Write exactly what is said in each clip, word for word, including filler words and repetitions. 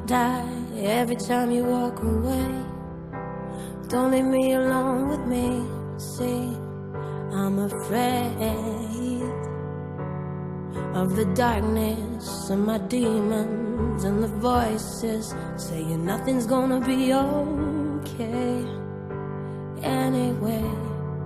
die every time you walk away. Don't leave me alone with me. See, I'm afraid of the darkness and my demons and the voices saying nothing's gonna be okay. Anyway,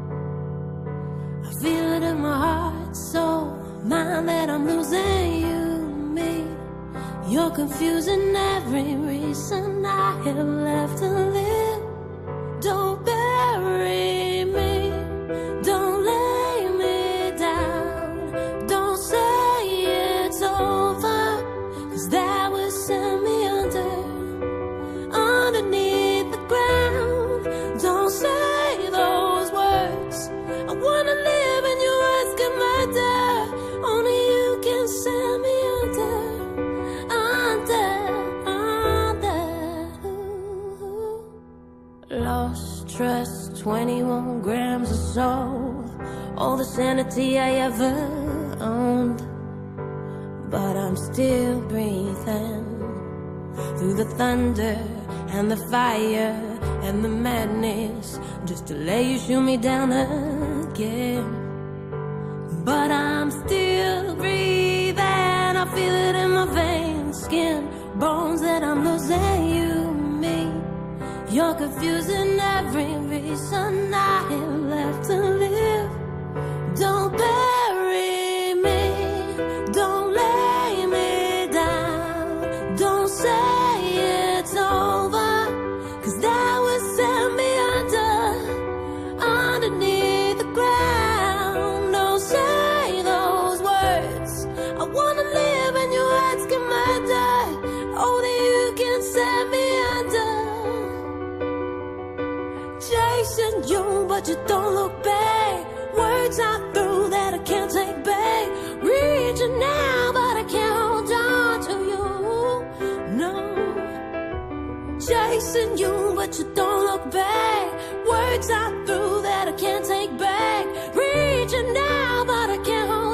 I feel it in my heart, soul, mind that I'm losing you, me. You're confusing every reason I have left to live. Don't bury me, don't lay me down, don't say it's over, 'cause that would send me under, underneath the ground. Don't say those words, I wanna live in your words, get murder. Only you can send me under, under, under. Lost trust, twenty-one grams of soul, all the sanity I ever owned. But I'm still breathing through the thunder and the fire and the madness, just to let you shoot me down again. But I'm still breathing, I feel it in my veins, skin, bones that I'm losing you, me. You're confusing every reason I have left to live. Don't bury me, don't lay me down, don't say it's over, 'cause that would send me under, underneath the ground. Don't say those words, I wanna live in your words, get murder. Only you can send me under. Chasing you, but you don't look back. Words I threw that I can't take back. Reaching now, but I can't hold on to you. No. Chasing you, but you don't look back. Words I threw that I can't take back. Reaching now, but I can't hold